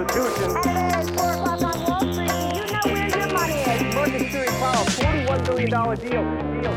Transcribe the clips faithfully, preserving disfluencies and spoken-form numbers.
Constitution. At four o'clock on Wall Street, do you know where your money is? Market Theory Powell, forty-one billion dollars deal. deal.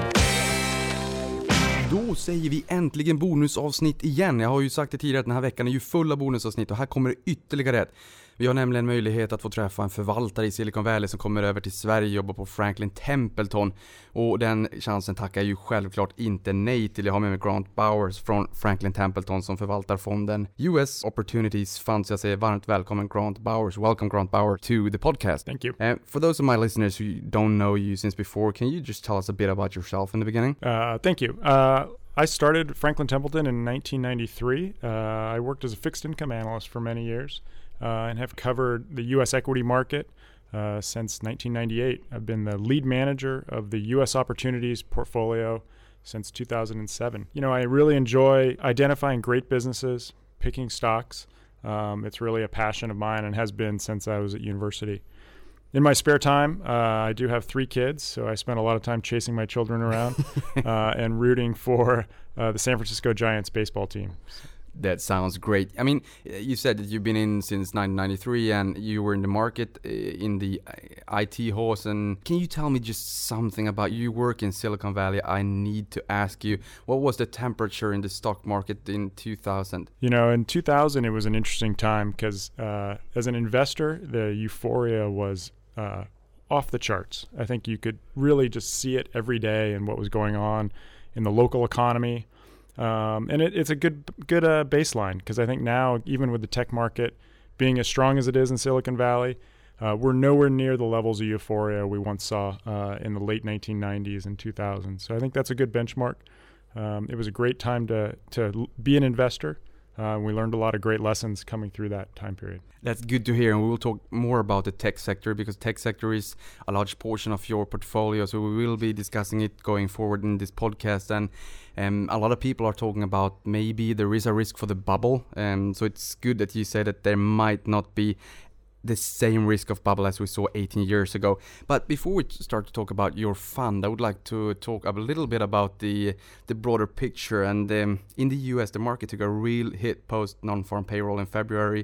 Då säger vi äntligen bonusavsnitt igen. Jag har ju sagt det tidigare att den här veckan är ju full av bonusavsnitt och här kommer det ytterligare ett. Vi har nämligen möjlighet att få träffa en förvaltare i Silicon Valley som kommer över till Sverige och jobbar på Franklin Templeton. Och den chansen tackar ju självklart inte nej till. Jag har med mig Grant Bowers från Franklin Templeton som förvaltar fonden U S Opportunities Fund. Så jag säger varmt välkommen Grant Bowers. Welcome Grant Bowers to the podcast. Thank you. Uh, for those of my listeners who don't know you since before, can you just tell us a bit about yourself in the beginning? Uh, thank you. Uh, I started Franklin Templeton in nineteen ninety-three. Uh, I worked as a fixed income analyst for many years. Uh, and have covered the U S equity market uh, since nineteen ninety-eight. I've been the lead manager of the U S Opportunities portfolio since two thousand seven. You know, I really enjoy identifying great businesses, picking stocks. Um, it's really a passion of mine and has been since I was at university. In my spare time, uh, I do have three kids, so I spend a lot of time chasing my children around uh, and rooting for uh, the San Francisco Giants baseball team. That sounds great. I mean, you said that you've been in since nineteen ninety-three and you were in the market uh, in the I T horse. And can you tell me just something about you work in Silicon Valley? I need to ask you, what was the temperature in the stock market in two thousand? You know, in two thousand, it was an interesting time because uh, as an investor, the euphoria was uh, off the charts. I think you could really just see it every day and what was going on in the local economy. Um, and it, it's a good good uh, baseline because I think now, even with the tech market being as strong as it is in Silicon Valley, uh, we're nowhere near the levels of euphoria we once saw uh, in the late nineteen nineties and two thousand. So I think that's a good benchmark. Um, it was a great time to, to be an investor. Uh, we learned a lot of great lessons coming through that time period. That's good to hear, and we will talk more about the tech sector because tech sector is a large portion of your portfolio, so we will be discussing it going forward in this podcast. And um, a lot of people are talking about maybe there is a risk for the bubble, um, so it's good that you say that there might not be the same risk of bubble as we saw eighteen years ago. But before we start to talk about your fund, I would like to talk a little bit about the the broader picture. And um, in the U S, the market took a real hit post non-farm payroll in February,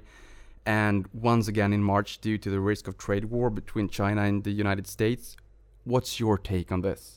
and once again in March due to the risk of trade war between China and the United States. What's your take on this?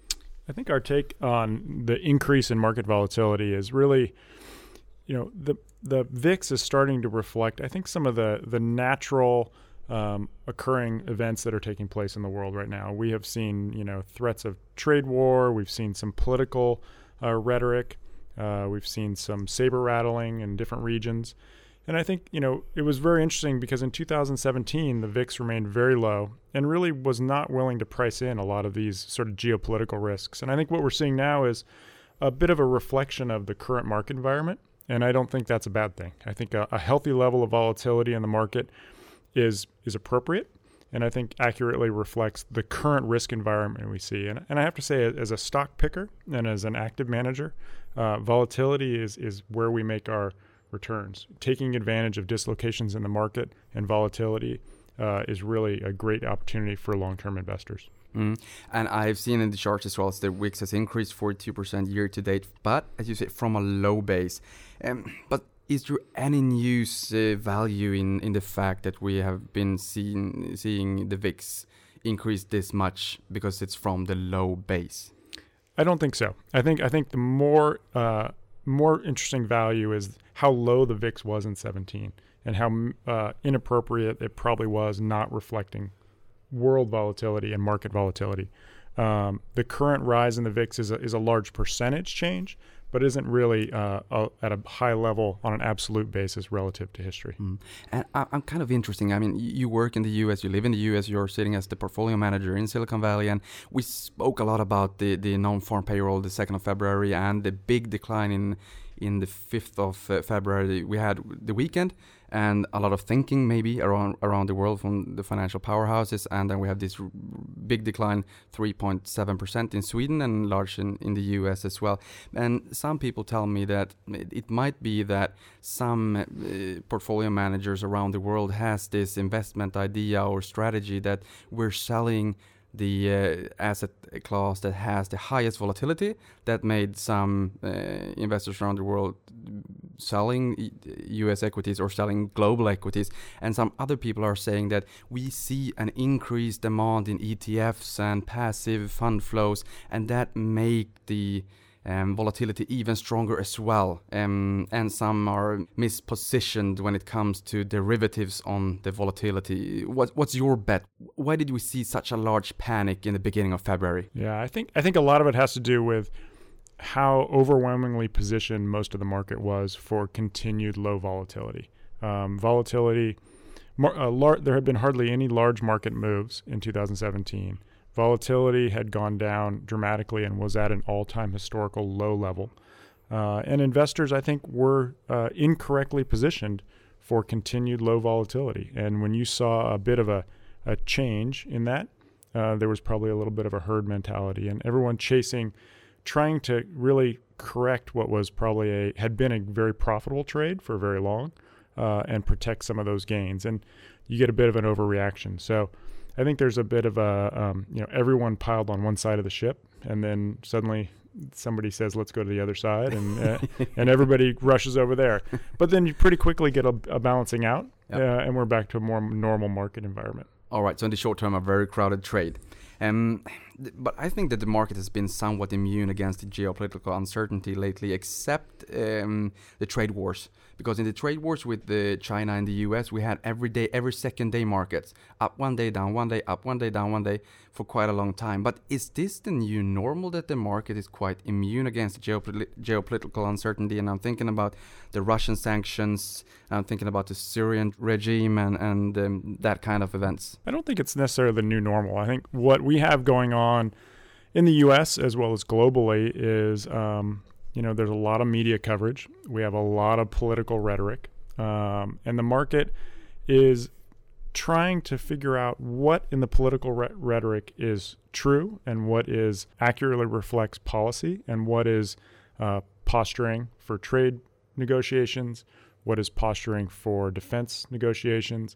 I think our take on the increase in market volatility is really, you know, the the V I X is starting to reflect, I think, some of the the natural um, occurring events that are taking place in the world right now. We have seen, you know, threats of trade war. We've seen some political uh, rhetoric. Uh, we've seen some saber rattling in different regions. And I think, you know, it was very interesting because in two thousand seventeen, the V I X remained very low and really was not willing to price in a lot of these sort of geopolitical risks. And I think what we're seeing now is a bit of a reflection of the current market environment. And I don't think that's a bad thing. I think a, a healthy level of volatility in the market is is appropriate, and I think accurately reflects the current risk environment we see. And, and I have to say, as a stock picker and as an active manager, uh, volatility is is where we make our returns. Taking advantage of dislocations in the market and volatility uh, is really a great opportunity for long-term investors. Mm. And I've seen in the charts as well as the W I X has increased forty-two percent year to date, but as you say, from a low base. Um, but is there any news uh, value in, in the fact that we have been seeing seeing the V I X increase this much because it's from the low base? I don't think so. I think I think the more uh, more interesting value is how low the V I X was in seventeen and how uh, inappropriate it probably was, not reflecting world volatility and market volatility. Um, the current rise in the V I X is a, is a large percentage change, but isn't really uh, a, at a high level on an absolute basis relative to history. Mm. And I, I'm kind of interesting. I mean, you work in the U S, you live in the U S, you're sitting as the portfolio manager in Silicon Valley, and we spoke a lot about the, the non-farm payroll the second of February and the big decline in in the fifth of uh, February. We had the weekend and a lot of thinking maybe around around the world from the financial powerhouses, and then we have this r- big decline, three point seven percent in Sweden and large in, in the U S as well. And some people tell me that it might be that some uh, portfolio managers around the world has this investment idea or strategy that we're selling the uh, asset class that has the highest volatility, that made some uh, investors around the world selling U S equities or selling global equities, and some other people are saying that we see an increased demand in E T Fs and passive fund flows, and that make the Um, volatility even stronger as well, um, and some are mispositioned when it comes to derivatives on the volatility. What, what's your bet? Why did we see such a large panic in the beginning of February? Yeah, I think I think a lot of it has to do with how overwhelmingly positioned most of the market was for continued low volatility. Um, volatility, mar- uh, lar- there had been hardly any large market moves in two thousand seventeen. Volatility had gone down dramatically and was at an all-time historical low level. Uh, and investors, I think, were uh, incorrectly positioned for continued low volatility. And when you saw a bit of a, a change in that, uh, there was probably a little bit of a herd mentality, and everyone chasing, trying to really correct what was probably a, had been a very profitable trade for very long, uh, and protect some of those gains. And you get a bit of an overreaction. So I think there's a bit of a, um, you know, everyone piled on one side of the ship, and then suddenly somebody says, let's go to the other side, and uh, and everybody rushes over there. But then you pretty quickly get a, a balancing out, yep. uh, and we're back to a more normal market environment. All right, so in the short term, a very crowded trade. Um, th- but I think that the market has been somewhat immune against the geopolitical uncertainty lately, except um, the trade wars. Because in the trade wars with the China and the U S, we had every day, every second day markets. Up one day, down one day, up one day, down one day for quite a long time. But is this the new normal, that the market is quite immune against the geopol- geopolitical uncertainty? And I'm thinking about the Russian sanctions, I'm thinking about the Syrian regime and, and um, that kind of events. I don't think it's necessarily the new normal. I think what we have going on in the U S as well as globally is, um, you know, there's a lot of media coverage. We have a lot of political rhetoric. Um, and the market is trying to figure out what in the political re- rhetoric is true and what is accurately reflects policy and what is uh, posturing for trade negotiations, what is posturing for defense negotiations.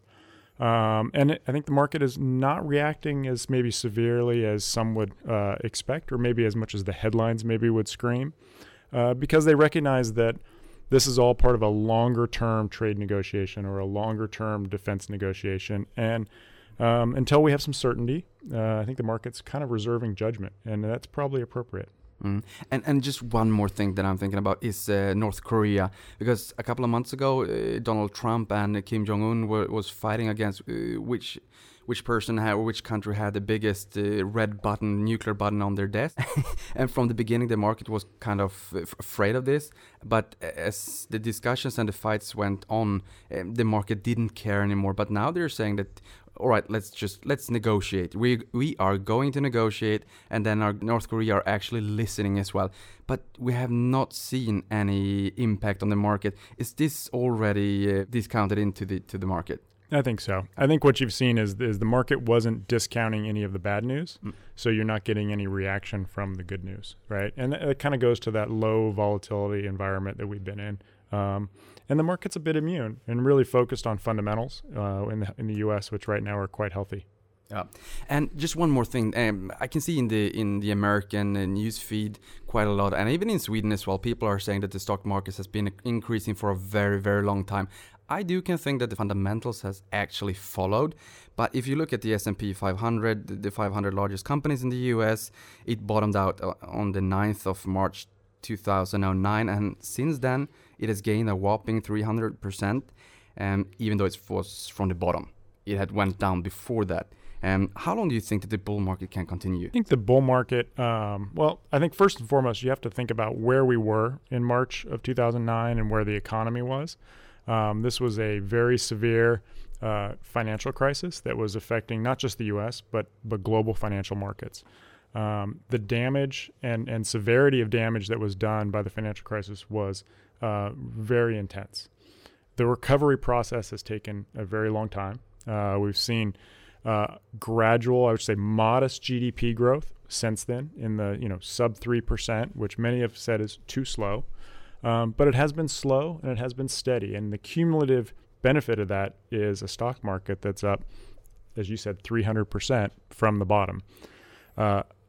Um, and it, I think the market is not reacting as maybe severely as some would uh, expect, or maybe as much as the headlines maybe would scream, uh, because they recognize that this is all part of a longer-term trade negotiation or a longer-term defense negotiation. And um, until we have some certainty, uh, I think the market's kind of reserving judgment, and that's probably appropriate. Mm. And and just one more thing that I'm thinking about is uh, North Korea, because a couple of months ago uh, Donald Trump and uh, Kim Jong-un were, was fighting against uh, which which person had, or which country had the biggest uh, red button, nuclear button on their desk. And from the beginning the market was kind of f- afraid of this, but as the discussions and the fights went on, um, the market didn't care anymore. But now they're saying that, all right, let's just let's negotiate. We we are going to negotiate, and then our North Korea are actually listening as well. But we have not seen any impact on the market. Is this already uh, discounted into the to the market? I think so. I think what you've seen is is the market wasn't discounting any of the bad news, mm. so you're not getting any reaction from the good news, right? And it th- kind of goes to that low volatility environment that we've been in. Um, and the market's a bit immune and really focused on fundamentals uh, in the in the U S, which right now are quite healthy. Yeah, and just one more thing. Um, I can see in the in the American uh, news feed quite a lot, and even in Sweden as well, people are saying that the stock market has been increasing for a very, very long time. I do can think that the fundamentals has actually followed, but if you look at the S and P five hundred, the five hundred largest companies in the U S, it bottomed out on the ninth of March two thousand nine, and since then it has gained a whopping three hundred percent, um, even though it was from the bottom. It had went down before that. Um, how long do you think that the bull market can continue? I think the bull market, um, well, I think first and foremost, you have to think about where we were in March of two thousand nine and where the economy was. Um, this was a very severe uh, financial crisis that was affecting not just the U S, but, but global financial markets. Um, the damage and, and severity of damage that was done by the financial crisis was uh, very intense. The recovery process has taken a very long time. Uh, we've seen uh, gradual, I would say modest G D P growth since then in the you know sub three percent, which many have said is too slow. Um, but it has been slow and it has been steady. And the cumulative benefit of that is a stock market that's up, as you said, three hundred percent from the bottom. Uh,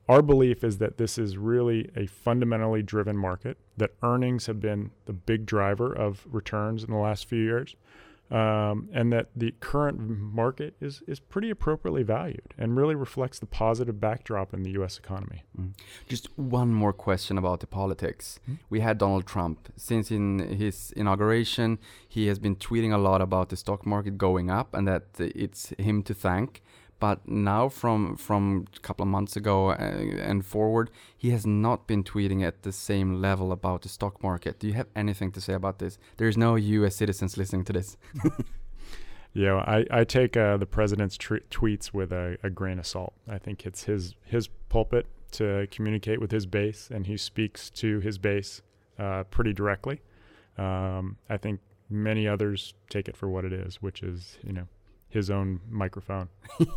our belief is that this is really a fundamentally driven market, that earnings have been the big driver of returns in the last few years, um, and that the current market is, is pretty appropriately valued and really reflects the positive backdrop in the U S economy. Mm. Just one more question about the politics. Mm. We had Donald Trump. Since in his inauguration, he has been tweeting a lot about the stock market going up and that it's him to thank. But now from from a couple of months ago uh, and forward, he has not been tweeting at the same level about the stock market. Do you have anything to say about this? There's no U S citizens listening to this. Yeah, I, I take uh, the president's tr- tweets with a, a grain of salt. I think it's his, his pulpit to communicate with his base, and he speaks to his base uh, pretty directly. Um, I think many others take it for what it is, which is, you know, his own microphone.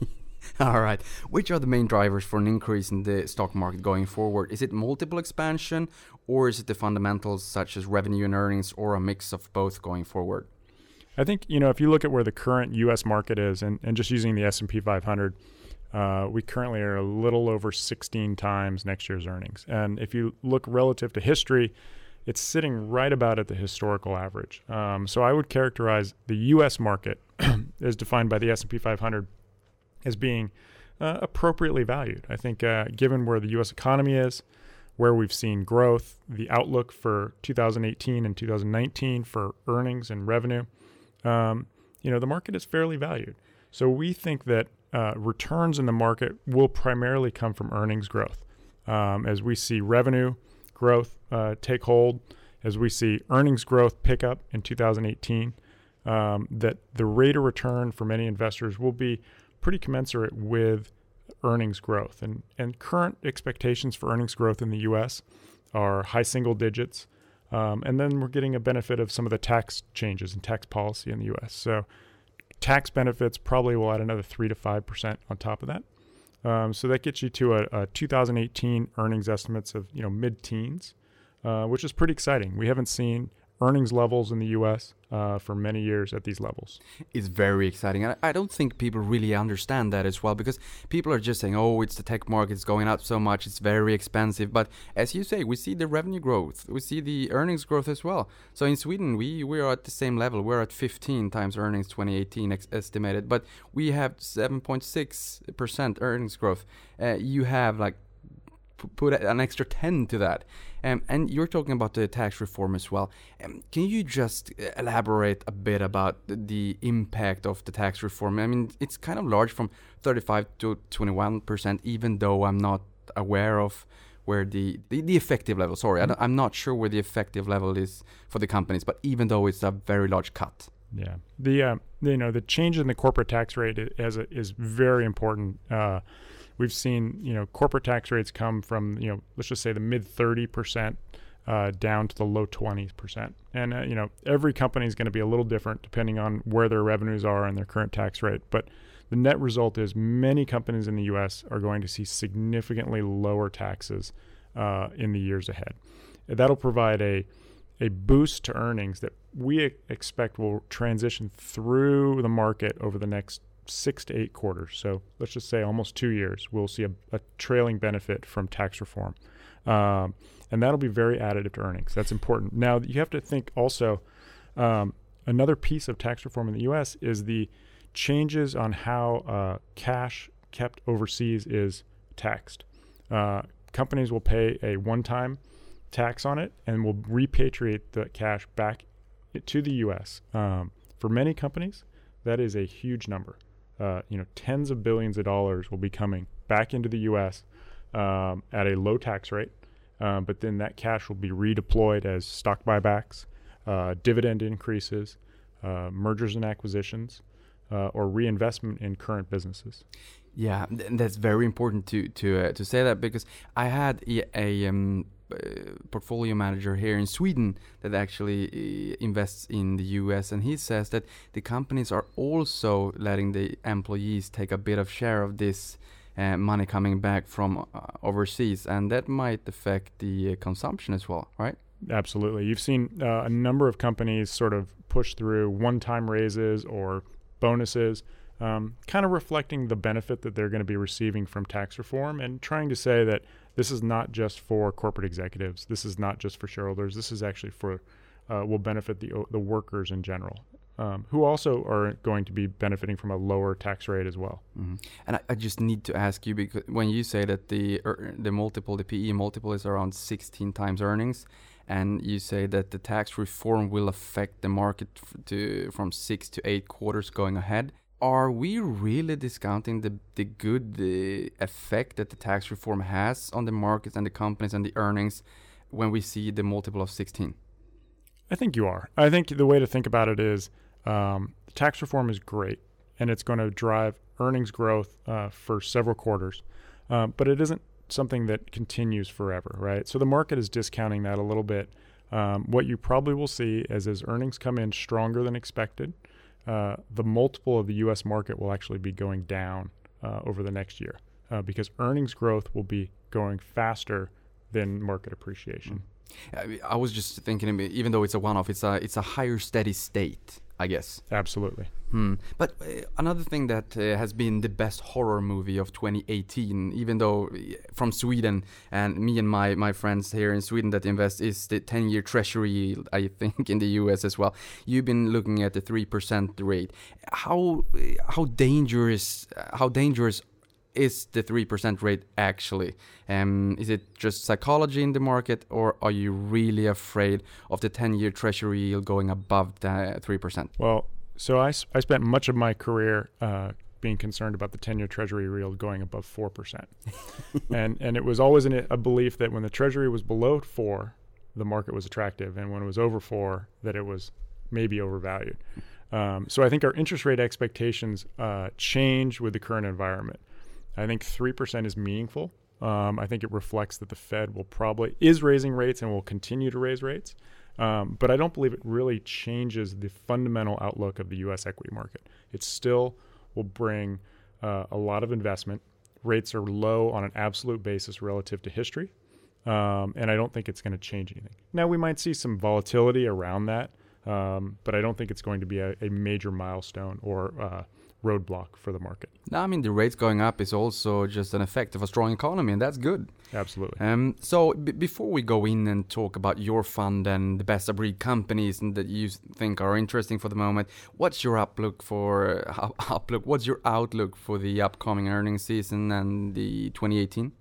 All right. Which are the main drivers for an increase in the stock market going forward? Is it multiple expansion, or is it the fundamentals such as revenue and earnings, or a mix of both going forward? I think, you know, if you look at where the current U S market is, and, and just using the S and P five hundred, uh, we currently are a little over sixteen times next year's earnings. And if you look relative to history, it's sitting right about at the historical average. Um, so I would characterize the U S market as defined by the S and P five hundred as being uh, appropriately valued. I think uh, given where the U S economy is, where we've seen growth, the outlook for two thousand eighteen and two thousand nineteen for earnings and revenue, um, you know, the market is fairly valued. So we think that uh, returns in the market will primarily come from earnings growth. Um, as we see revenue growth uh, take hold, as we see earnings growth pick up in two thousand eighteen, um, that the rate of return for many investors will be pretty commensurate with earnings growth. And, and current expectations for earnings growth in the U S are high single digits. Um, and then we're getting a benefit of some of the tax changes in tax policy in the U S. So tax benefits probably will add another three to five percent on top of that. Um, so that gets you to a, a two thousand eighteen earnings estimates of, you know, mid-teens, uh, which is pretty exciting. We haven't seen earnings levels in the U S uh, for many years at these levels. It's very exciting. And I don't think people really understand that as well, because people are just saying, oh, it's the tech market, it's going up so much, it's very expensive. But as you say, we see the revenue growth, we see the earnings growth as well. So in Sweden, we, we are at the same level. We're at fifteen times earnings twenty eighteen ex- estimated, but we have seven point six percent earnings growth. Uh, you have like put an extra ten to that. Um, and you're talking about the tax reform as well. Um, can you just elaborate a bit about the, the impact of the tax reform? I mean, it's kind of large, from thirty-five to twenty-one percent, even though I'm not aware of where the, the, the effective level, sorry, mm-hmm. I I'm not sure where the effective level is for the companies, but even though it's a very large cut. Yeah, the uh, you know the change in the corporate tax rate is a, is very important. Uh, we've seen you know corporate tax rates come from you know let's just say the mid thirty percent uh, down to the low twenty percent, and uh, you know every company is going to be a little different depending on where their revenues are and their current tax rate. But the net result is many companies in the U S are going to see significantly lower taxes uh, in the years ahead. That'll provide a a boost to earnings that we expect will transition through the market over the next six to eight quarters. So let's just say almost two years, we'll see a, a trailing benefit from tax reform. Um, and that'll be very additive to earnings. That's important. Now, you have to think also, um, another piece of tax reform in the U S is the changes on how uh, cash kept overseas is taxed. Uh, companies will pay a one-time tax on it and will repatriate the cash back to the U S. Um, for many companies, that is a huge number. Uh, you know, tens of billions of dollars will be coming back into the U S um, at a low tax rate, um, but then that cash will be redeployed as stock buybacks, uh, dividend increases, uh, mergers and acquisitions, uh, or reinvestment in current businesses. Yeah, th- that's very important to to uh, to say that, because I had a, a um, uh, portfolio manager here in Sweden that actually uh, invests in the U S, and he says that the companies are also letting the employees take a bit of share of this uh, money coming back from uh, overseas, and that might affect the uh, consumption as well, right? Absolutely. You've seen uh, a number of companies sort of push through one-time raises or bonuses um, kind of reflecting the benefit that they're going to be receiving from tax reform and trying to say that this is not just for corporate executives. This is not just for shareholders. This is actually for, uh, will benefit the the workers in general, um, who also are going to be benefiting from a lower tax rate as well. Mm-hmm. And I, I just need to ask you, because when you say that the er, the multiple, the P E multiple is around sixteen times earnings, and you say that the tax reform will affect the market f- to from six to eight quarters going ahead. Are we really discounting the the good the effect that the tax reform has on the markets and the companies and the earnings when we see the multiple of sixteen? I think you are. I think the way to think about it is um, tax reform is great, and it's going to drive earnings growth uh, for several quarters, um, but it isn't something that continues forever, right? So the market is discounting that a little bit. Um, what you probably will see is as earnings come in stronger than expected, uh, the multiple of the U S market will actually be going down uh, over the next year uh, because earnings growth will be going faster than market appreciation. Mm. I was just thinking, even though it's a one-off, it's a it's a higher steady state, I guess. Absolutely. Hmm. But uh, another thing that uh, has been the best horror movie of twenty eighteen, even though uh, from Sweden, and me and my, my friends here in Sweden that invest, is the ten-year treasury yield, I think, in the U S as well. You've been looking at the three percent rate. How how dangerous how dangerous is the three percent rate actually? Um, is it just psychology in the market, or are you really afraid of the ten-year treasury yield going above the three percent? Well, so I, I spent much of my career uh, being concerned about the ten-year treasury yield going above four percent. and and it was always an, a belief that when the treasury was below four, the market was attractive, and when it was over four, that it was maybe overvalued. Um, so I think our interest rate expectations uh, change with the current environment. I think three percent is meaningful. Um, I think it reflects that the Fed will probably is raising rates and will continue to raise rates. Um, but I don't believe it really changes the fundamental outlook of the U S equity market. It still will bring uh, a lot of investment. Rates are low on an absolute basis relative to history. Um, and I don't think it's going to change anything. Now, we might see some volatility around that, um, but I don't think it's going to be a, a major milestone or uh, roadblock for the market. No, I mean, the rates going up is also just an effect of a strong economy, and that's good. Absolutely. Um, so b- before we go in and talk about your fund and the best of breed companies and that you think are interesting for the moment, what's your outlook for uh, outlook? What's your outlook for the upcoming earnings season and the twenty eighteen?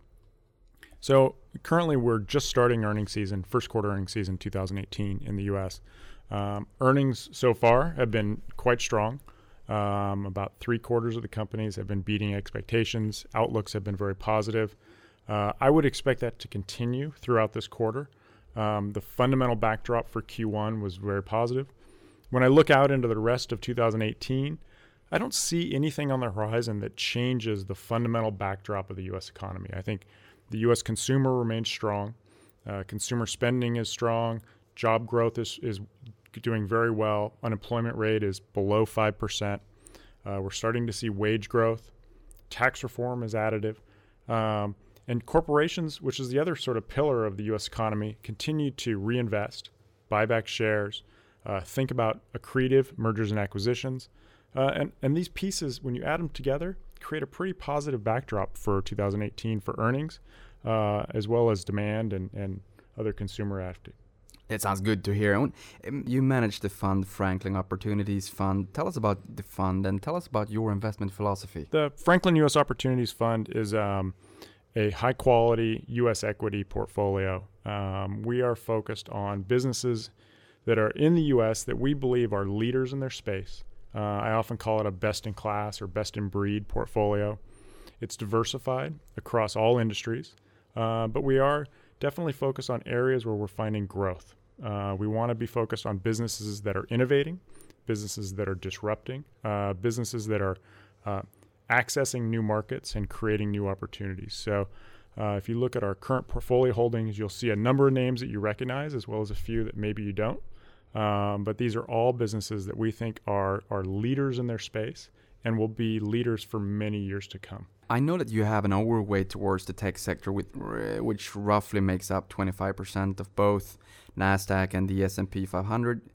So currently, we're just starting earnings season, first quarter earnings season, two thousand eighteen in the U S. Um, earnings so far have been quite strong. Um, about three quarters of the companies have been beating expectations. Outlooks have been very positive. Uh, I would expect that to continue throughout this quarter. Um, the fundamental backdrop for Q one was very positive. When I look out into the rest of two thousand eighteen, I don't see anything on the horizon that changes the fundamental backdrop of the U S economy. I think the U S consumer remains strong. Uh, consumer spending is strong. Job growth is, is doing very well. Unemployment rate is below five percent. Uh, we're starting to see wage growth. Tax reform is additive. Um, and corporations, which is the other sort of pillar of the U S economy, continue to reinvest, buy back shares, uh, think about accretive mergers and acquisitions. Uh, and, and these pieces, when you add them together, create a pretty positive backdrop for two thousand eighteen for earnings, uh, as well as demand and, and other consumer activity. It sounds good to hear. Um, You manage the fund, Franklin Opportunities Fund. Tell us about the fund and tell us about your investment philosophy. The Franklin U S Opportunities Fund is um, a high-quality U S equity portfolio. Um, we are focused on businesses that are in the U S that we believe are leaders in their space. Uh, I often call it a best-in-class or best-in-breed portfolio. It's diversified across all industries, uh, but we are definitely focused on areas where we're finding growth. Uh, we want to be focused on businesses that are innovating, businesses that are disrupting, uh, businesses that are uh, accessing new markets and creating new opportunities. So uh, if you look at our current portfolio holdings, you'll see a number of names that you recognize as well as a few that maybe you don't. Um, but these are all businesses that we think are, are leaders in their space and will be leaders for many years to come. I know that you have an overweight towards the tech sector, with, uh, which roughly makes up twenty-five percent of both NASDAQ and the S and P five hundred.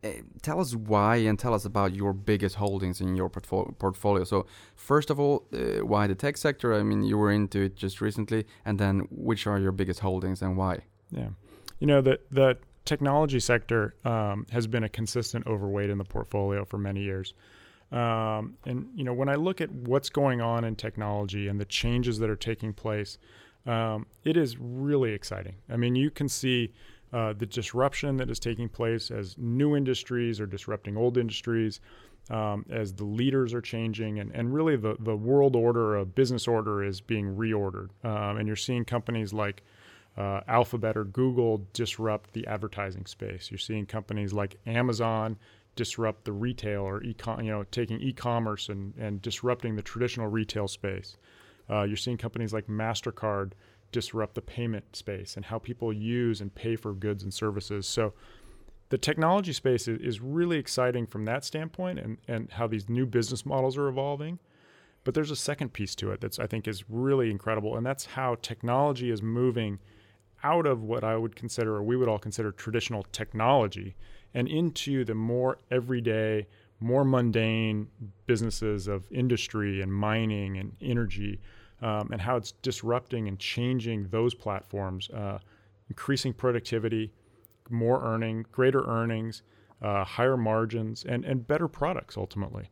uh, tell us why and tell us about your biggest holdings in your portfo- portfolio. So first of all, uh, why the tech sector? I mean, you were into it just recently, and then which are your biggest holdings and why? Yeah, you know, the the technology sector um, has been a consistent overweight in the portfolio for many years. Um, and, you know, when I look at what's going on in technology and the changes that are taking place, um, it is really exciting. I mean, you can see uh, the disruption that is taking place as new industries are disrupting old industries, um, as the leaders are changing, and, and really the, the world order of business order is being reordered. Um, and you're seeing companies like uh, Alphabet or Google disrupt the advertising space. You're seeing companies like Amazon disrupt the retail or e-com, you know, taking e-commerce and, and disrupting the traditional retail space. Uh, you're seeing companies like MasterCard disrupt the payment space and how people use and pay for goods and services. So the technology space is, is really exciting from that standpoint, and, and how these new business models are evolving. But there's a second piece to it that's, I think, is really incredible, and that's how technology is moving out of what I would consider, or we would all consider, traditional technology, and into the more everyday, more mundane businesses of industry and mining and energy, um, and how it's disrupting and changing those platforms, uh, increasing productivity, more earning, greater earnings, uh, higher margins, and, and better products ultimately.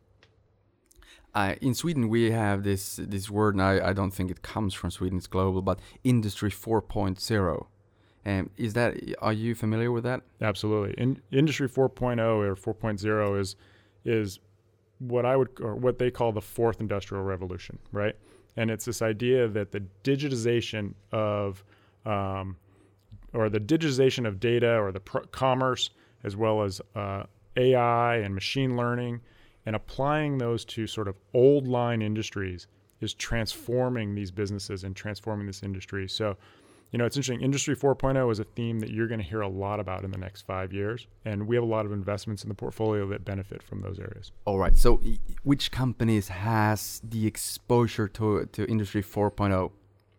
Uh, in Sweden, we have this this word, and I, I don't think it comes from Sweden, it's global, but Industry four point oh. Um, is that, are you familiar with that? Absolutely. In, Industry four point oh or four point oh is is what I would, or what they call the fourth industrial revolution, right? And it's this idea that the digitization of, um, or the digitization of data, or the pr- commerce, as well as uh, A I and machine learning, and applying those to sort of old line industries is transforming these businesses and transforming this industry. So, you know, it's interesting. Industry four point oh is a theme that you're going to hear a lot about in the next five years. And we have a lot of investments in the portfolio that benefit from those areas. All right. So which companies has the exposure to, to Industry four point oh?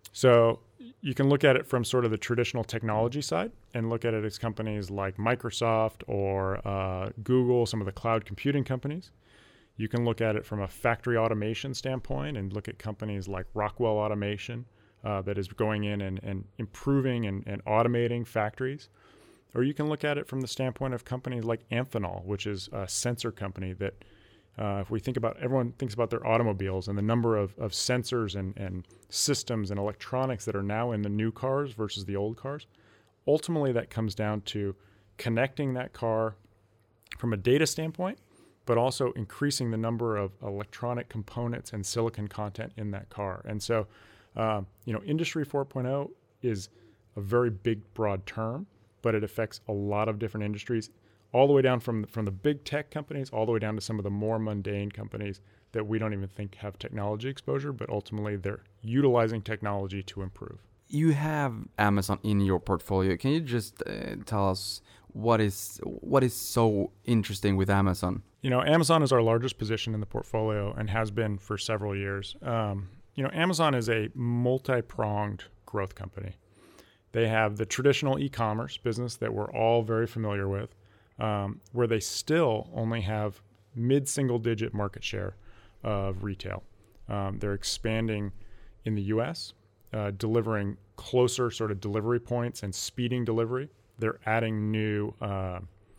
So you can look at it from sort of the traditional technology side and look at it as companies like Microsoft or uh, Google, some of the cloud computing companies. You can look at it from a factory automation standpoint and look at companies like Rockwell Automation uh, that is going in and, and improving and, and automating factories. Or you can look at it from the standpoint of companies like Amphenol, which is a sensor company that uh, if we think about, everyone thinks about their automobiles and the number of, of sensors and, and systems and electronics that are now in the new cars versus the old cars. Ultimately, that comes down to connecting that car from a data standpoint, but also increasing the number of electronic components and silicon content in that car. And so, um, you know, Industry four point oh is a very big, broad term, but it affects a lot of different industries, all the way down from, from the big tech companies, all the way down to some of the more mundane companies that we don't even think have technology exposure, but ultimately they're utilizing technology to improve. You have Amazon in your portfolio. Can you just uh, tell us what is what is so interesting with Amazon? You know, Amazon is our largest position in the portfolio and has been for several years. Um, you know, Amazon is a multi-pronged growth company. They have the traditional e-commerce business that we're all very familiar with, um, where they still only have mid-single-digit market share of retail. Um, they're expanding in the U S, uh, delivering closer sort of delivery points and speeding delivery. They're adding new uh,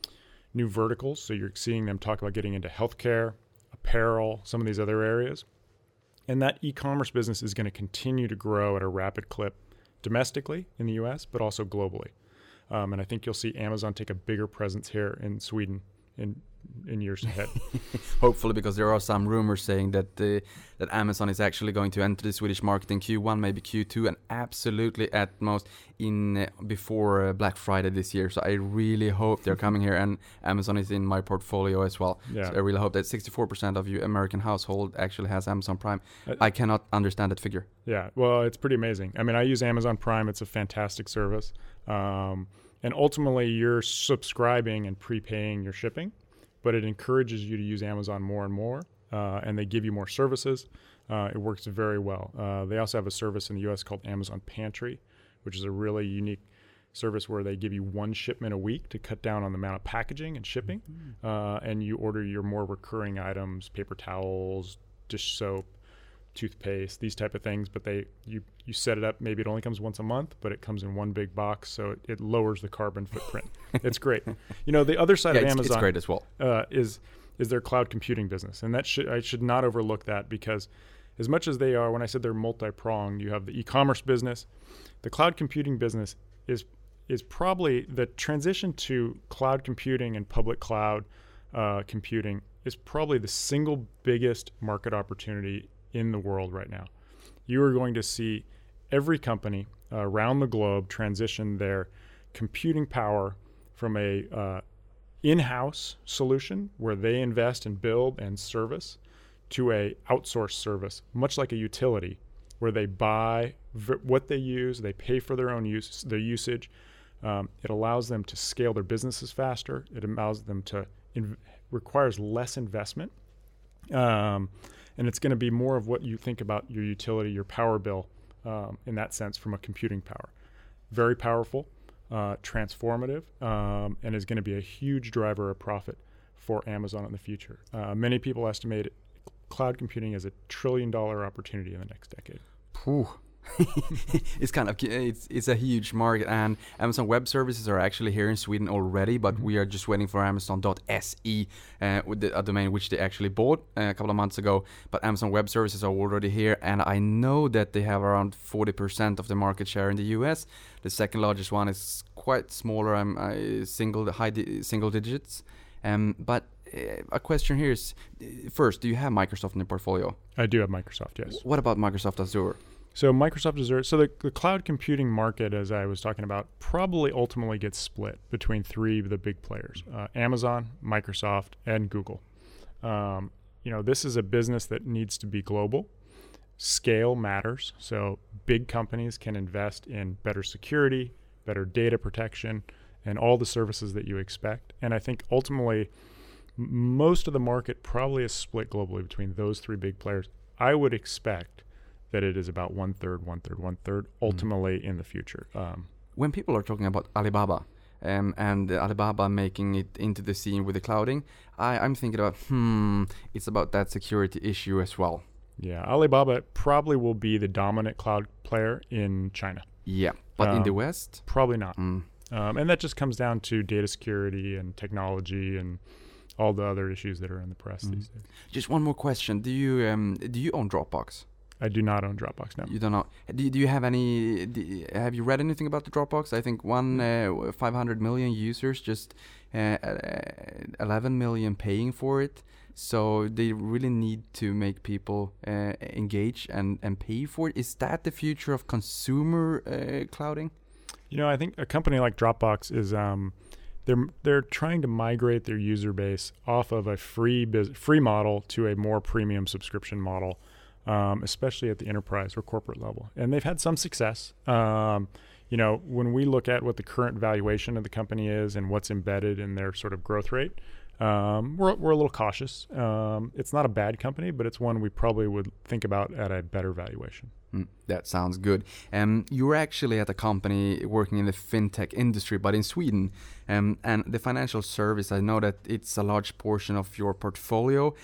new verticals. So you're seeing them talk about getting into healthcare, apparel, some of these other areas. And that e-commerce business is going to continue to grow at a rapid clip domestically in the U S, but also globally. Um, and I think you'll see Amazon take a bigger presence here in Sweden in in years ahead. Hopefully, because there are some rumors saying that uh, that Amazon is actually going to enter the Swedish market in Q one, maybe Q two, and absolutely at most in uh, before uh, Black Friday this year. So I really hope they're coming here, and Amazon is in my portfolio as well. Yeah. So I really hope that sixty-four percent of you American household actually has Amazon Prime. Uh, I cannot understand that figure. Yeah, well, it's pretty amazing. I mean, I use Amazon Prime. It's a fantastic service. Um, and ultimately, you're subscribing and prepaying your shipping, but it encourages you to use Amazon more and more, uh, and they give you more services. Uh, it works very well. Uh, they also have a service in the U S called Amazon Pantry, which is a really unique service where they give you one shipment a week to cut down on the amount of packaging and shipping. Mm-hmm. Uh, and you order your more recurring items, paper towels, dish soap, toothpaste, these type of things. But they you, you set it up, maybe it only comes once a month, but it comes in one big box, so it, it lowers the carbon footprint. It's great. You know, the other side yeah, of it's, Amazon it's great as well. Uh, is is their cloud computing business. And that should I should not overlook that, because as much as they are, when I said they're multi-pronged, you have the e-commerce business, the cloud computing business is is probably the transition to cloud computing and public cloud uh, computing is probably the single biggest market opportunity in the world right now. You are going to see every company uh, around the globe transition their computing power from a uh, in-house solution where they invest and build and service to a outsourced service, much like a utility, where they buy v- what they use, they pay for their own use, their usage. Um, it allows them to scale their businesses faster. It allows them to in- requires less investment, um, and it's going to be more of what you think about your utility, your power bill, um, in that sense, from a computing power. Very powerful, uh, transformative, um, and is going to be a huge driver of profit for Amazon in the future. Uh, many people estimate it, cloud computing as a trillion dollar opportunity in the next decade. Phew. it's kind of it's it's a huge market, and Amazon Web Services are actually here in Sweden already, but mm-hmm. we are just waiting for Amazon dot S E, uh, with the, a domain which they actually bought uh, a couple of months ago. But Amazon Web Services are already here, and I know that they have around forty percent of the market share in the U S. The second largest one is quite smaller, I'm um, uh, single high di- single digits. Um, but uh, a question here is, first, do you have Microsoft in the portfolio? I do have Microsoft, yes. What about Microsoft Azure? So Microsoft Azure, so the, the cloud computing market, as I was talking about, probably ultimately gets split between three of the big players, uh, Amazon, Microsoft, and Google. Um, you know, this is a business that needs to be global. Scale matters. So big companies can invest in better security, better data protection, and all the services that you expect. And I think ultimately, m- most of the market probably is split globally between those three big players. I would expect that it is about one third, one third, one third, ultimately mm. in the future. Um, when people are talking about Alibaba um, and uh, Alibaba making it into the scene with the clouding, I, I'm thinking about, hmm, it's about that security issue as well. Yeah, Alibaba probably will be the dominant cloud player in China. Yeah, but um, in the West? Probably not. Mm. Um, and that just comes down to data security and technology and all the other issues that are in the press mm. these days. Just one more question. Do you um, do you own Dropbox? I do not own Dropbox, no. You don't know. Do, do you have any, do, have you read anything about the Dropbox? I think one, uh, five hundred million users, just uh, eleven million paying for it. So they really need to make people uh, engage and, and pay for it. Is that the future of consumer uh, clouding? You know, I think a company like Dropbox is, um, they're they're trying to migrate their user base off of a free biz- free model to a more premium subscription model. Um, especially at the enterprise or corporate level. And they've had some success. Um, you know, when we look at what the current valuation of the company is and what's embedded in their sort of growth rate, um, we're, we're a little cautious. Um, it's not a bad company, but it's one we probably would think about at a better valuation. Mm, that sounds good. Um, you're actually at a company working in the fintech industry, but in Sweden. Um, and the financial service, I know that it's a large portion of your portfolio.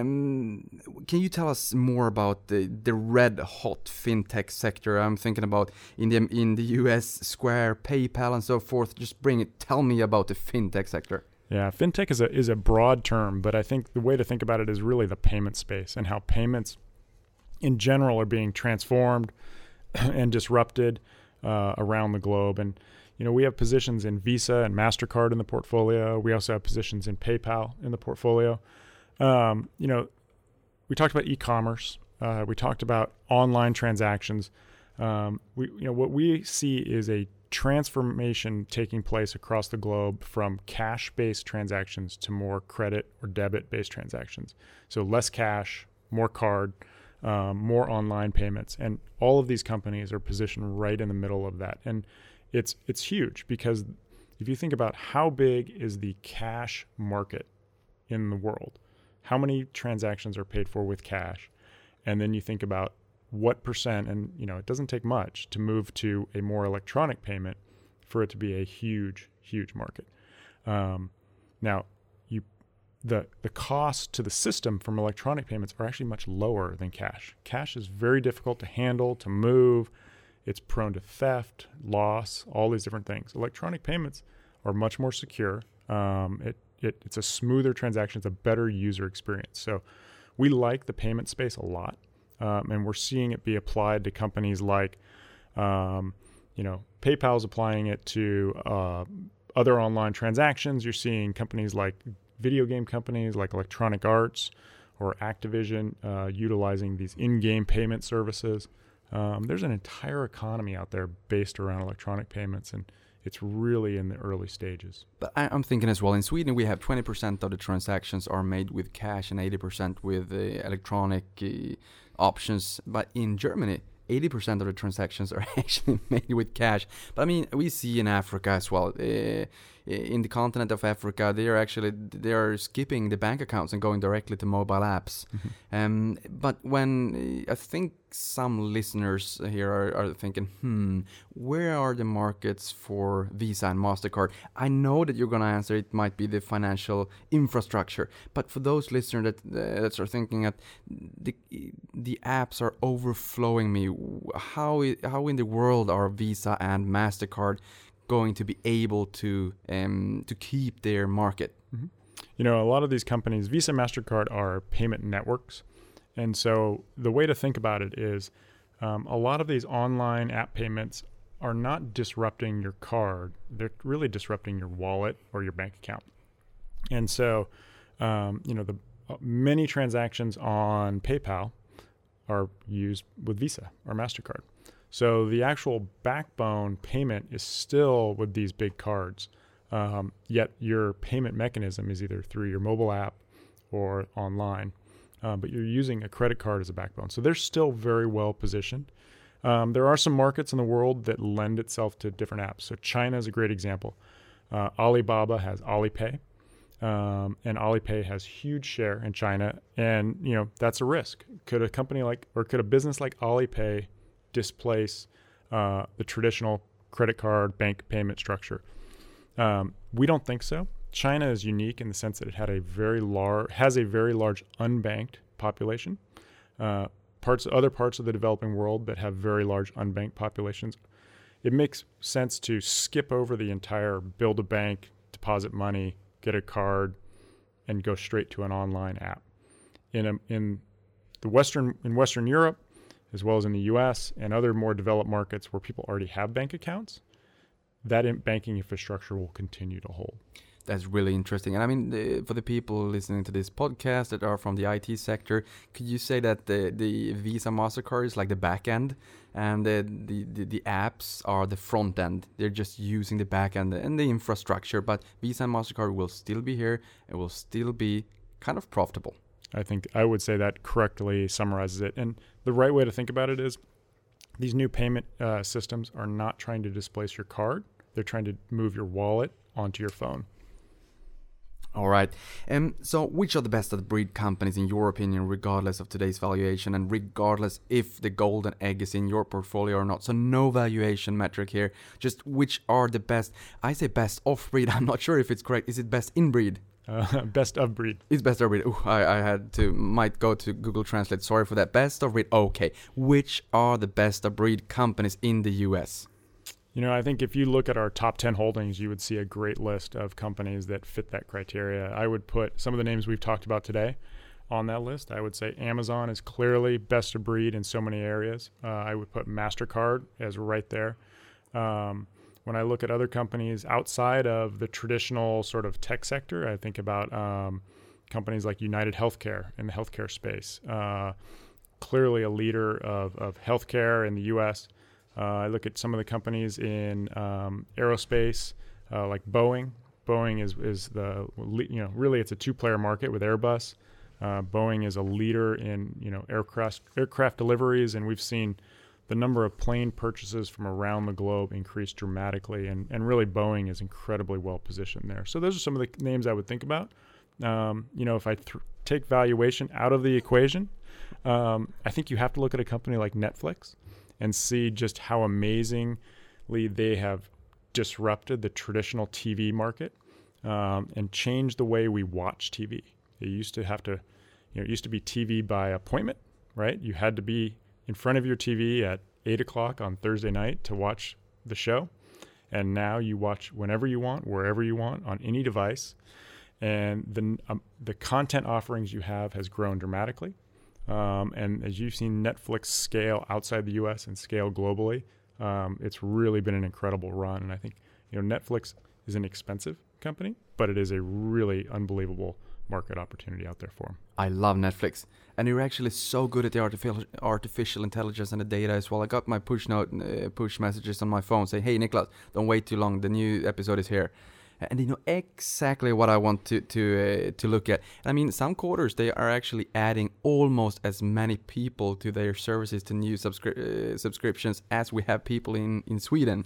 Um, can you tell us more about the, the red hot fintech sector? I'm thinking about in the, in the U S, Square, PayPal, and so forth. Just bring it. Tell me about the fintech sector. Yeah, fintech is a is a broad term, but I think the way to think about it is really the payment space and how payments in general are being transformed and disrupted uh, around the globe. And, you know, we have positions in Visa and MasterCard in the portfolio. We also have positions in PayPal in the portfolio. Um, you know, we talked about e-commerce. Uh, we talked about online transactions. Um, we, you know, what we see is a transformation taking place across the globe from cash-based transactions to more credit or debit-based transactions. So less cash, more card, Um, more online payments, and all of these companies are positioned right in the middle of that. And it's it's huge, because if you think about how big is the cash market in the world, how many transactions are paid for with cash, and then you think about what percent, and you know it doesn't take much to move to a more electronic payment for it to be a huge, huge market. Um, now, you the the cost to the system from electronic payments are actually much lower than cash. Cash is very difficult to handle, to move. It's prone to theft, loss, all these different things. Electronic payments are much more secure. Um, it, it it's a smoother transaction. It's a better user experience. So we like the payment space a lot, um, and we're seeing it be applied to companies like, um, you know, PayPal's applying it to uh, other online transactions. You're seeing companies like video game companies like Electronic Arts or Activision uh, utilizing these in-game payment services. Um, there's an entire economy out there based around electronic payments, and it's really in the early stages. But I, I'm thinking as well, in Sweden we have twenty percent of the transactions are made with cash and eighty percent with uh, electronic uh, options. But in Germany, eighty percent of the transactions are actually made with cash. But I mean, we see in Africa as well. Uh, in the continent of Africa, they are actually they are skipping the bank accounts and going directly to mobile apps. Mm-hmm. Um, but when uh, I think some listeners here are, are thinking, hmm, where are the markets for Visa and MasterCard? I know that you're going to answer it might be the financial infrastructure, but for those listeners that uh, that are thinking that the the apps are overflowing me, how how in the world are Visa and MasterCard going to be able to um, to keep their market? Mm-hmm. You know, a lot of these companies, Visa, MasterCard, are payment networks. And so the way to think about it is um, a lot of these online app payments are not disrupting your card. They're really disrupting your wallet or your bank account. And so, um, you know, the uh, many transactions on PayPal are used with Visa or MasterCard. So the actual backbone payment is still with these big cards, um, yet your payment mechanism is either through your mobile app or online, uh, but you're using a credit card as a backbone. So they're still very well positioned. Um, there are some markets in the world that lend itself to different apps. So China is a great example. Uh, Alibaba has Alipay, um, and Alipay has huge share in China, and you know that's a risk. Could a company like, or could a business like Alipay displace uh, the traditional credit card bank payment structure? Um, we don't think so. China is unique in the sense that it had a very large has a very large unbanked population. Uh, parts other parts of the developing world that have very large unbanked populations, it makes sense to skip over the entire build a bank, deposit money, get a card, and go straight to an online app. In a, in the Western in Western Europe, as well as in the U S and other more developed markets where people already have bank accounts, that in banking infrastructure will continue to hold. That's really interesting. And I mean, the, for the people listening to this podcast that are from the I T sector, could you say that the, the Visa MasterCard is like the back end and the, the, the, the apps are the front end? They're just using the back end and the infrastructure, but Visa and MasterCard will still be here. It will still be kind of profitable. I think I would say that correctly summarizes it. And the right way to think about it is these new payment uh, systems are not trying to displace your card. They're trying to move your wallet onto your phone. All right. Um, so which are the best of the breed companies in your opinion, regardless of today's valuation and regardless if the golden egg is in your portfolio or not? So no valuation metric here. Just which are the best? I say best off breed. I'm not sure if it's correct. Is it best in breed? Uh, best of breed. It's best of breed. Ooh, I, I had to, might go to Google Translate. Sorry for that. Best of breed. Okay. Which are the best of breed companies in the U S? You know, I think if you look at our top ten holdings, you would see a great list of companies that fit that criteria. I would put some of the names we've talked about today on that list. I would say Amazon is clearly best of breed in so many areas. Uh, I would put MasterCard as right there. Um, When I look at other companies outside of the traditional sort of tech sector, I think about um, companies like United Healthcare in the healthcare space. Uh, clearly a leader of, of healthcare in the U S. Uh, I look at some of the companies in um, aerospace, uh, like Boeing. Boeing is, is the, you know, really it's a two-player market with Airbus. Uh, Boeing is a leader in, you know, aircraft aircraft deliveries, and we've seen the number of plane purchases from around the globe increased dramatically, and, and really Boeing is incredibly well positioned there. So those are some of the names I would think about. Um, you know, if I th- take valuation out of the equation, um, I think you have to look at a company like Netflix and see just how amazingly they have disrupted the traditional T V market um, and changed the way we watch T V. It used to have to, you know, it used to be T V by appointment, right? You had to be in front of your T V at eight o'clock on Thursday night to watch the show. And now you watch whenever you want, wherever you want, on any device. And the um, the content offerings you have has grown dramatically. Um, and as you've seen Netflix scale outside the U S and scale globally, um, it's really been an incredible run. And I think, you know, Netflix is an expensive company, but it is a really unbelievable market opportunity out there for them. I love Netflix. And you're actually so good at the artificial artificial intelligence and the data as well. I got my push note, uh, push messages on my phone saying, hey, Niklas, don't wait too long. The new episode is here. And they know exactly what I want to to uh, to look at. I mean, some quarters, they are actually adding almost as many people to their services, to new subscri- uh, subscriptions, as we have people in, in Sweden.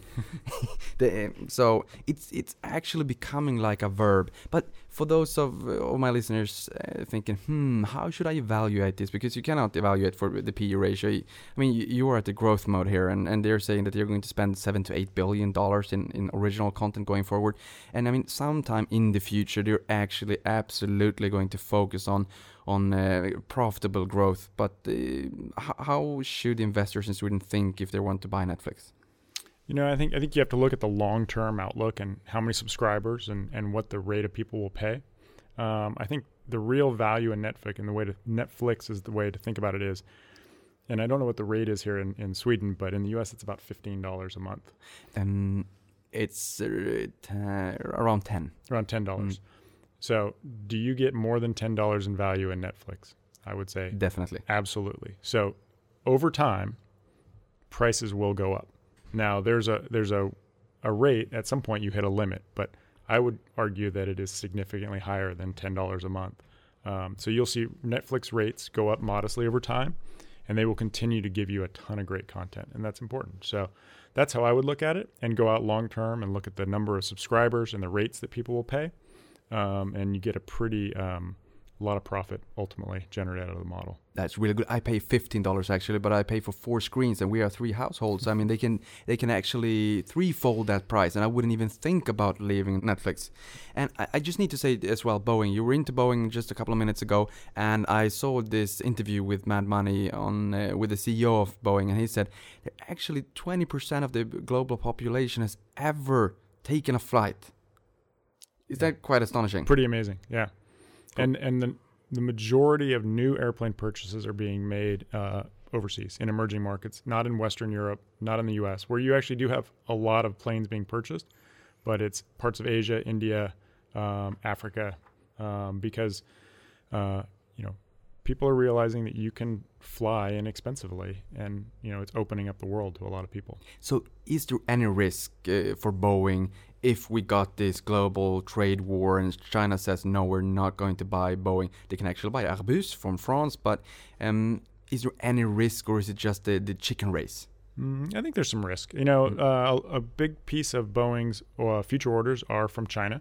the, so it's it's actually becoming like a verb. But for those of, of my listeners uh, thinking, hmm, how should I evaluate this? Because you cannot evaluate for the P E ratio. I mean, you, you are at the growth mode here, and, and they're saying that you're going to spend seven to eight billion dollars in, in original content going forward. And I mean, sometime in the future, they're actually absolutely going to focus on on uh, profitable growth. But uh, h- how should investors in Sweden think if they want to buy Netflix? You know, I think I think you have to look at the long-term outlook and how many subscribers and, and what the rate of people will pay. Um, I think the real value in Netflix and the way to Netflix is the way to think about it is, and I don't know what the rate is here in, in Sweden, but in the U S it's about fifteen dollars a month. Um, it's uh, t- around ten. Around ten dollars. Mm. So do you get more than ten dollars in value in Netflix? I would say definitely. Absolutely. So over time, prices will go up. Now there's a there's a, a rate, at some point you hit a limit, but I would argue that it is significantly higher than ten dollars a month. Um, so you'll see Netflix rates go up modestly over time, and they will continue to give you a ton of great content, and that's important. So that's how I would look at it, and go out long term and look at the number of subscribers and the rates that people will pay, um, and you get a pretty um, lot of profit ultimately generated out of the model. That's really good. I pay fifteen dollars actually, but I pay for four screens, and we are three households. I mean, they can they can actually threefold that price, and I wouldn't even think about leaving Netflix. And I, I just need to say as well, Boeing. You were into Boeing just a couple of minutes ago, and I saw this interview with Mad Money on uh, with the C E O of Boeing, and he said that actually twenty percent of the global population has ever taken a flight. Is that quite astonishing? Pretty amazing, yeah. Cool. And and the the majority of new airplane purchases are being made uh, overseas in emerging markets, not in Western Europe, not in the U S, where you actually do have a lot of planes being purchased, but it's parts of Asia, India, um, Africa, um, because uh, you know people are realizing that you can fly inexpensively, and you know it's opening up the world to a lot of people. So, is there any risk uh, for Boeing if we got this global trade war and China says, no, we're not going to buy Boeing? They can actually buy Airbus from France, but um, is there any risk, or is it just the, the chicken race? Mm, I think there's some risk. You know, mm. uh, a big piece of Boeing's uh, future orders are from China.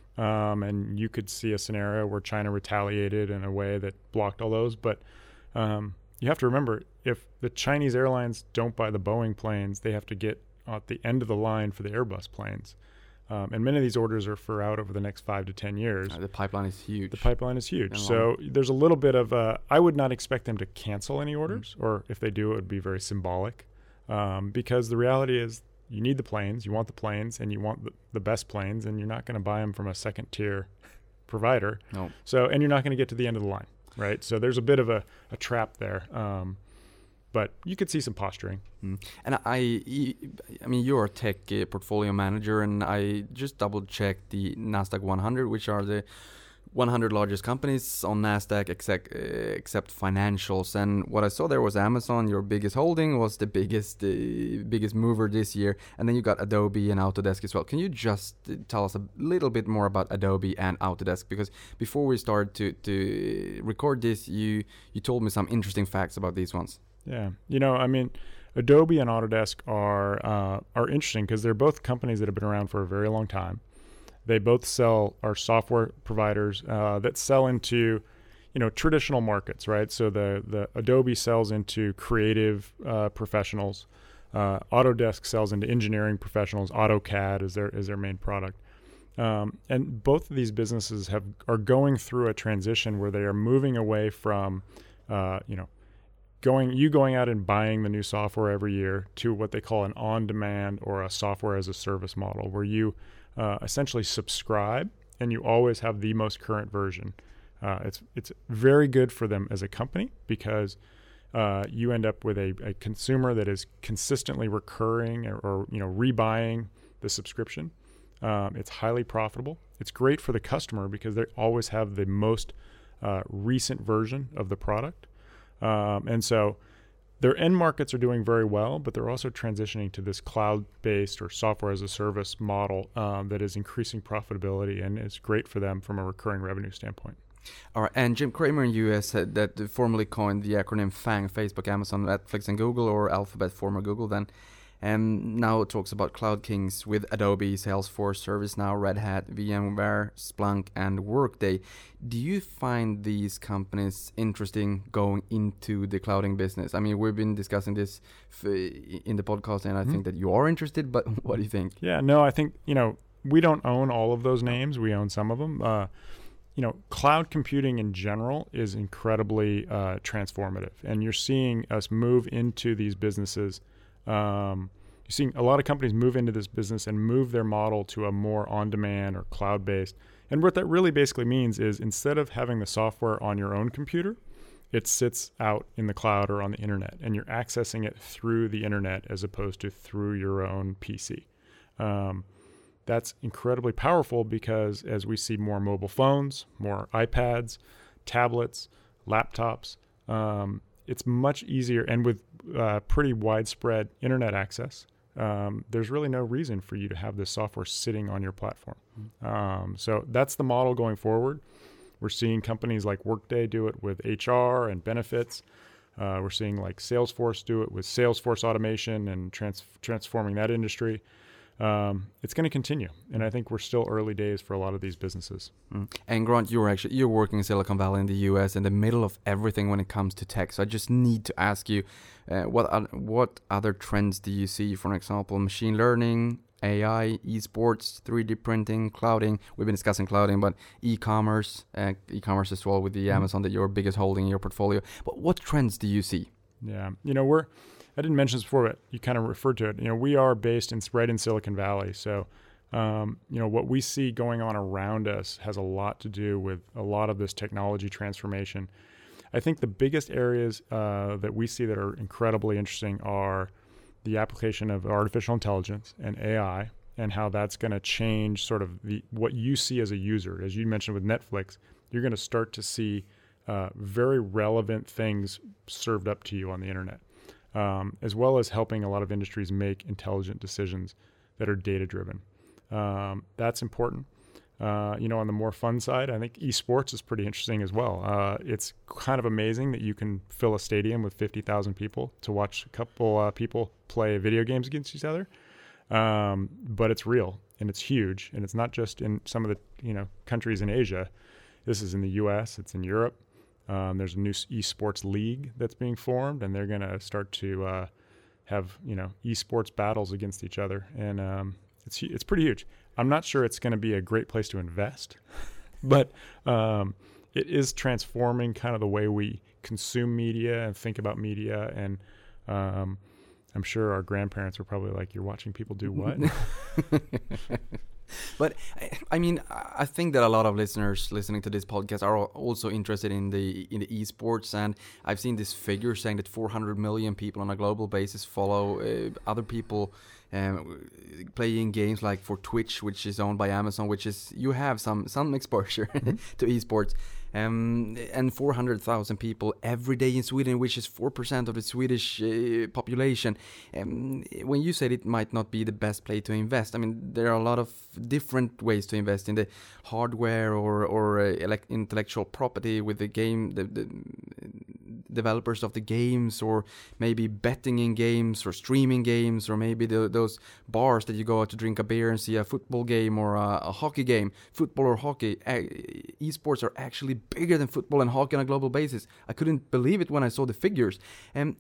Um, and you could see a scenario where China retaliated in a way that blocked all those. But um, you have to remember, if the Chinese airlines don't buy the Boeing planes, they have to get at the end of the line for the Airbus planes. Um, and many of these orders are for out over the next five to ten years. Uh, the pipeline is huge. The pipeline is huge. So there's a little bit of, uh, I would not expect them to cancel any orders, mm. or if they do, it would be very symbolic. Um, because the reality is you need the planes, you want the planes, and you want the, the best planes, and you're not going to buy them from a second tier provider. No. So, and you're not going to get to the end of the line, right? So there's a bit of a, a trap there. Um, But you could see some posturing. Mm. And I, I mean, you're a tech uh, portfolio manager, and I just double-checked the NASDAQ one hundred, which are the one hundred largest companies on NASDAQ except, uh, except financials. And what I saw there was Amazon, your biggest holding, was the biggest uh, biggest mover this year. And then you got Adobe and Autodesk as well. Can you just uh, tell us a little bit more about Adobe and Autodesk? Because before we started to, to record this, you, you told me some interesting facts about these ones. Yeah, you know, I mean, Adobe and Autodesk are uh, are interesting because they're both companies that have been around for a very long time. They both sell are software providers uh, that sell into, you know, traditional markets, right? So the the Adobe sells into creative uh, professionals, Uh, Autodesk sells into engineering professionals. AutoCAD is their is their main product. Um, and both of these businesses have are going through a transition where they are moving away from, uh, you know, going you going out and buying the new software every year to what they call an on-demand or a software as a service model, where you uh, essentially subscribe and you always have the most current version. Uh, it's it's very good for them as a company because uh, you end up with a, a consumer that is consistently recurring or, or you know rebuying the subscription. Um, it's highly profitable. It's great for the customer because they always have the most uh, recent version of the product. Um, and so their end markets are doing very well, but they're also transitioning to this cloud-based or software as a service model um, that is increasing profitability, and it's great for them from a recurring revenue standpoint. All right, and Jim Cramer in the U S said that formerly coined the acronym FANG, Facebook, Amazon, Netflix, and Google, or Alphabet, former Google then. And now it talks about Cloud Kings with Adobe, Salesforce, ServiceNow, Red Hat, VMware, Splunk, and Workday. Do you find these companies interesting going into the clouding business? I mean, we've been discussing this f- in the podcast, and I mm-hmm. think that you are interested, but what do you think? Yeah, no, I think, you know, we don't own all of those names. We own some of them. Uh, you know, cloud computing in general is incredibly uh, transformative, and you're seeing us move into these businesses. Um, you're seeing a lot of companies move into this business and move their model to a more on-demand or cloud-based. And what that really basically means is instead of having the software on your own computer, it sits out in the cloud or on the internet, and you're accessing it through the internet as opposed to through your own P C. Um, that's incredibly powerful because as we see more mobile phones, more iPads, tablets, laptops, um, it's much easier, and with uh, pretty widespread internet access, um, there's really no reason for you to have this software sitting on your platform. Mm-hmm. Um, so that's the model going forward. We're seeing companies like Workday do it with H R and benefits. Uh, we're seeing like Salesforce do it with Salesforce automation and trans- transforming that industry. Um, it's going to continue, and I think we're still early days for a lot of these businesses. Mm. And Grant, you're actually you're working in Silicon Valley in the U S in the middle of everything when it comes to tech. So I just need to ask you, uh, what are, what other trends do you see? For example, machine learning, A I, esports, three D printing, clouding. We've been discussing clouding, but e-commerce, uh, e-commerce as well with the mm. Amazon that you're biggest holding in your portfolio. But what trends do you see? Yeah, you know we're. I didn't mention this before, but you kind of referred to it. You know, we are based in right in Silicon Valley, so um, you know what we see going on around us has a lot to do with a lot of this technology transformation. I think the biggest areas uh, that we see that are incredibly interesting are the application of artificial intelligence and A I, and how that's going to change sort of the what you see as a user. As you mentioned with Netflix, you're going to start to see uh, very relevant things served up to you on the internet. Um, as well as helping a lot of industries make intelligent decisions that are data-driven. Um, that's important. Uh, you know, on the more fun side, I think esports is pretty interesting as well. Uh, it's kind of amazing that you can fill a stadium with fifty thousand people to watch a couple uh, people play video games against each other. Um, but it's real, and it's huge, and it's not just in some of the you know countries in Asia. This is in the U S, it's in Europe. Um, there's a new esports league that's being formed, and they're going to start to uh, have you know esports battles against each other, and um, it's it's pretty huge. I'm not sure it's going to be a great place to invest, but um, it is transforming kind of the way we consume media and think about media, and um, I'm sure our grandparents were probably like, "You're watching people do what?" But I mean, I think that a lot of listeners listening to this podcast are also interested in the in the esports, and I've seen this figure saying that four hundred million people on a global basis follow uh, other people um, playing games like for Twitch, which is owned by Amazon, which is you have some some exposure mm-hmm. to esports. Um, and four hundred thousand people every day in Sweden, which is four percent of the Swedish uh, population. Um, when you said it might not be the best place to invest, I mean, there are a lot of different ways to invest in the hardware or, or uh, elect- intellectual property with the game, the, the, developers of the games, or maybe betting in games, or streaming games, or maybe the, those bars that you go out to drink a beer and see a football game or a, a hockey game, football or hockey. E- esports are actually bigger than football and hockey on a global basis. I couldn't believe it when I saw the figures. And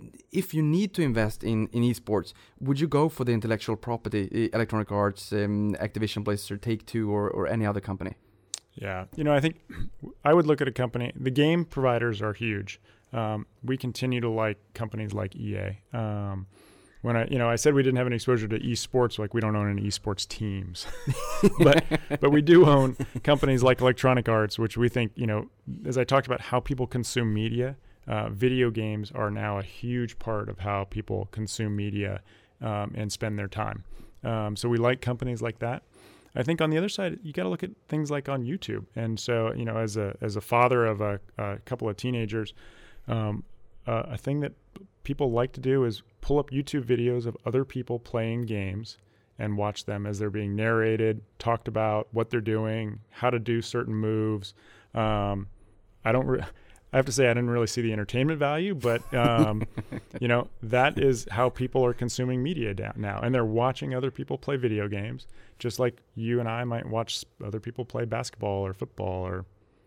if you need to invest in, in esports, would you go for the intellectual property, Electronic Arts, um, Activision, Blizzard, Take-Two, or, or any other company? Yeah, you know, I think I would look at a company. The game providers are huge. Um, we continue to like companies like E A. Um, when I, you know, I said we didn't have any exposure to esports, like we don't own any esports teams, but but we do own companies like Electronic Arts, which we think, you know, as I talked about how people consume media, uh, video games are now a huge part of how people consume media um, and spend their time. Um, so we like companies like that. I think on the other side, you got to look at things like on YouTube. And so, you know, as a as a father of a, a couple of teenagers, um, uh, a thing that people like to do is pull up YouTube videos of other people playing games and watch them as they're being narrated, talked about, what they're doing, how to do certain moves. Um, I don't. Re- I have to say I didn't really see the entertainment value, but um, you know, that is how people are consuming media down now, and they're watching other people play video games, just like you and I might watch other people play basketball or football. Or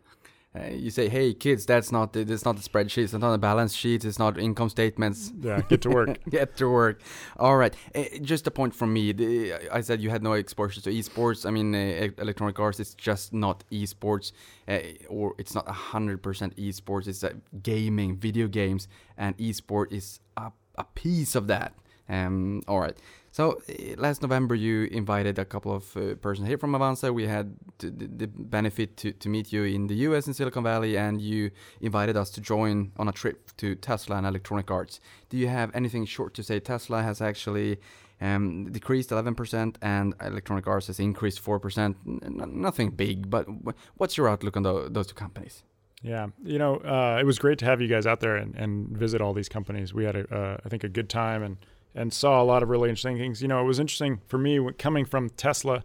uh, you say, "Hey, kids, that's not the, that's not the spreadsheets, it's not the balance sheets, it's not income statements." Yeah, get to work. Get to work. All right. Uh, just a point from me. The, I said you had no exposure to esports. I mean, uh, Electronic Arts is just not esports, uh, or it's not a hundred percent esports. It's uh, gaming, video games, and esport is a, a piece of that. Um. All right. So uh, last November, you invited a couple of uh, persons here from Avanza. We had t- the, the benefit to, to meet you in the U S in Silicon Valley, and you invited us to join on a trip to Tesla and Electronic Arts. Do you have anything short to say? Tesla has actually um, decreased eleven percent, and Electronic Arts has increased four percent. N- nothing big, but w- what's your outlook on the, those two companies? Yeah, you know, uh, it was great to have you guys out there and, and visit all these companies. We had, a, uh, I think, a good time and. and saw a lot of really interesting things. You know, it was interesting for me coming from Tesla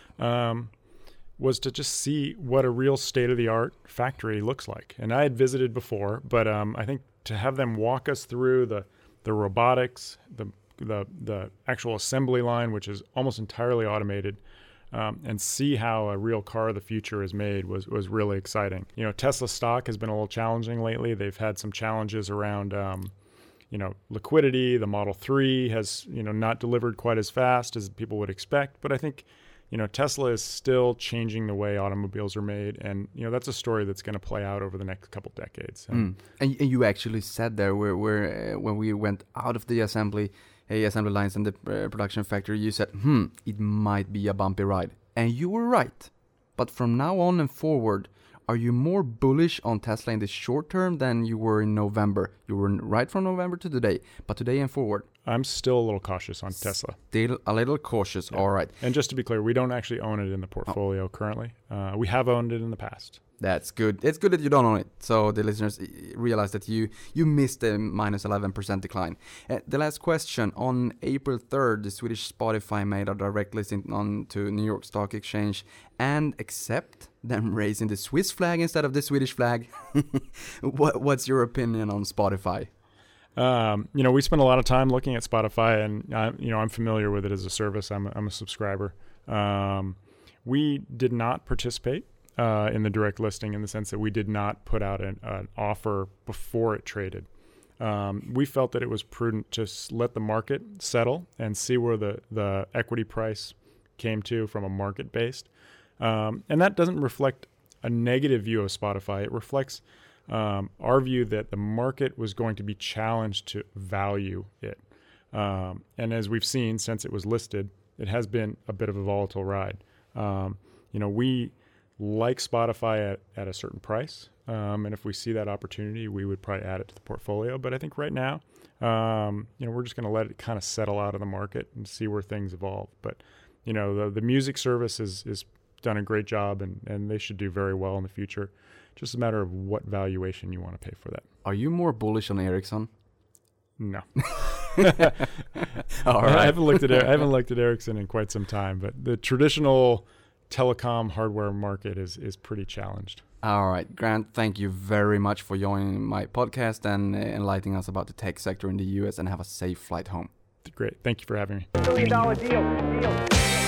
um, was to just see what a real state-of-the-art factory looks like. And I had visited before, but um, I think to have them walk us through the the robotics, the the the actual assembly line, which is almost entirely automated, um, and see how a real car of the future is made was was really exciting. You know, Tesla stock has been a little challenging lately. They've had some challenges around um, you know, liquidity. The Model three has, you know, not delivered quite as fast as people would expect. But I think, you know, Tesla is still changing the way automobiles are made. And, you know, that's a story that's going to play out over the next couple decades. So. Mm. And, and you actually said there where, where uh, when we went out of the assembly, uh, assembly lines and the uh, production factory, you said, hmm, it might be a bumpy ride. And you were right. But from now on and forward, are you more bullish on Tesla in the short term than you were in November? You were right from November to today, but today and forward. I'm still a little cautious on Tesla. Still a little cautious, yeah. All right. And just to be clear, we don't actually own it in the portfolio oh. currently. Uh, we have owned it in the past. That's good. It's good that you don't own it, so the listeners realize that you you missed the minus eleven percent decline. Uh, the last question. On April third, the Swedish Spotify made a direct listing on to New York Stock Exchange, and except them raising the Swiss flag instead of the Swedish flag. what, what's your opinion on Spotify? Um, you know, we spend a lot of time looking at Spotify, and I, you know, I'm familiar with it as a service. I'm a, I'm a subscriber. Um, we did not participate uh, in the direct listing in the sense that we did not put out an, an offer before it traded. Um, we felt that it was prudent to let the market settle and see where the, the equity price came to from a market based. Um, and that doesn't reflect a negative view of Spotify. It reflects um, our view that the market was going to be challenged to value it. Um, and as we've seen since it was listed, it has been a bit of a volatile ride. Um, you know, we like Spotify at, at a certain price. Um, and if we see that opportunity, we would probably add it to the portfolio. But I think right now, um, you know, we're just going to let it kind of settle out of the market and see where things evolve. But, you know, the, the music service is, is done a great job, and, and they should do very well in the future. Just a matter of what valuation you want to pay for that. Are you more bullish on Ericsson? No. All right. I haven't looked at I haven't looked at Ericsson in quite some time, but the traditional telecom hardware market is is pretty challenged. All right, Grant, thank you very much for joining my podcast and uh, enlightening us about the tech sector in the U S, and have a safe flight home. Great. Thank you for having me. Billion dollar deal. Deal.